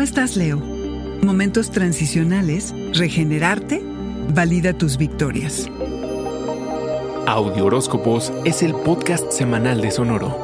estás, Leo? Momentos transicionales, regenerarte, valida tus victorias. Audio Horóscopos es el podcast semanal de Sonoro.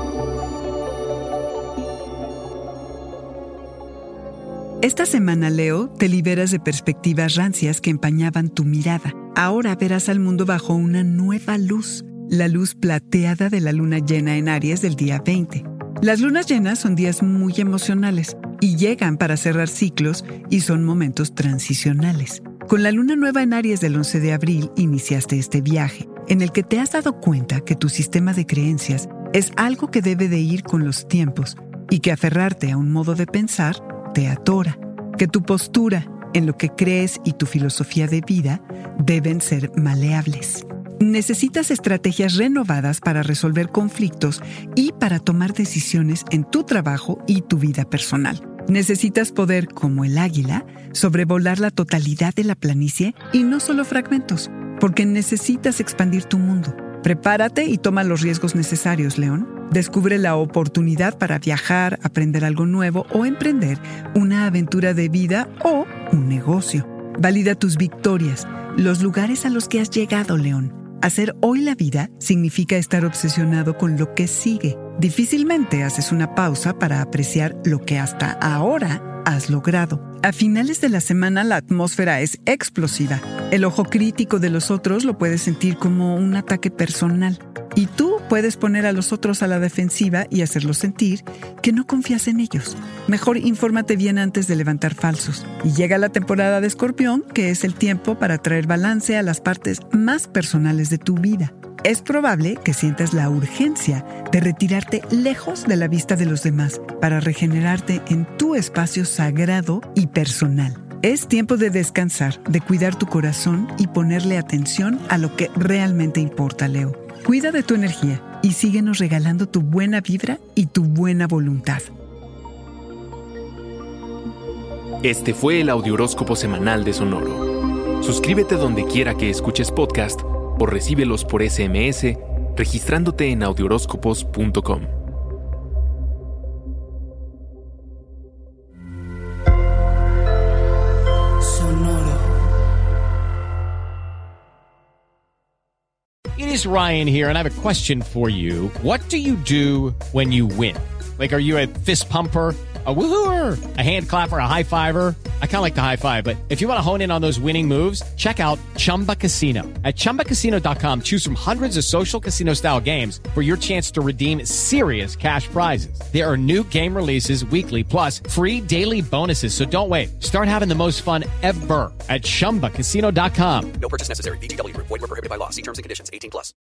Esta semana, Leo, te liberas de perspectivas rancias que empañaban tu mirada. Ahora verás al mundo bajo una nueva luz, la luz plateada de la luna llena en Aries del día 20. Las lunas llenas son días muy emocionales y llegan para cerrar ciclos y son momentos transicionales. Con la luna nueva en Aries del 11 de abril iniciaste este viaje, en el que te has dado cuenta que tu sistema de creencias es algo que debe de ir con los tiempos y que aferrarte a un modo de pensar te atora, que tu postura en lo que crees y tu filosofía de vida deben ser maleables. Necesitas estrategias renovadas para resolver conflictos y para tomar decisiones en tu trabajo y tu vida personal. Necesitas poder, como el águila, sobrevolar la totalidad de la planicie y no solo fragmentos, porque necesitas expandir tu mundo. Prepárate y toma los riesgos necesarios, León. Descubre la oportunidad para viajar, aprender algo nuevo o emprender una aventura de vida o un negocio. Valida tus victorias, los lugares a los que has llegado, León. Hacer hoy la vida significa estar obsesionado con lo que sigue. Difícilmente haces una pausa para apreciar lo que hasta ahora has logrado. A finales de la semana la atmósfera es explosiva. El ojo crítico de los otros lo puedes sentir como un ataque personal. Y tú puedes poner a los otros a la defensiva y hacerlos sentir que no confías en ellos. Mejor infórmate bien antes de levantar falsos. Y llega la temporada de Escorpión, que es el tiempo para traer balance a las partes más personales de tu vida. Es probable que sientas la urgencia de retirarte lejos de la vista de los demás para regenerarte en tu espacio sagrado y personal. Es tiempo de descansar, de cuidar tu corazón y ponerle atención a lo que realmente importa, Leo. Cuida de tu energía y síguenos regalando tu buena vibra y tu buena voluntad. Este fue el Audiohoróscopo semanal de Sonoro. Suscríbete donde quiera que escuches podcast o recíbelos por SMS registrándote en audiohoróscopos.com. It is Ryan here, and I have a question for you. What do you do when you win? Like, are you a fist pumper, a woo-hooer, a hand clapper, a high-fiver? I kind of like the high-five, but if you want to hone in on those winning moves, check out Chumba Casino. At ChumbaCasino.com, choose from hundreds of social casino-style games for your chance to redeem serious cash prizes. There are new game releases weekly, plus free daily bonuses, so don't wait. Start having the most fun ever at ChumbaCasino.com. No purchase necessary. VGW Group. Void where prohibited by law. See terms and conditions. 18+.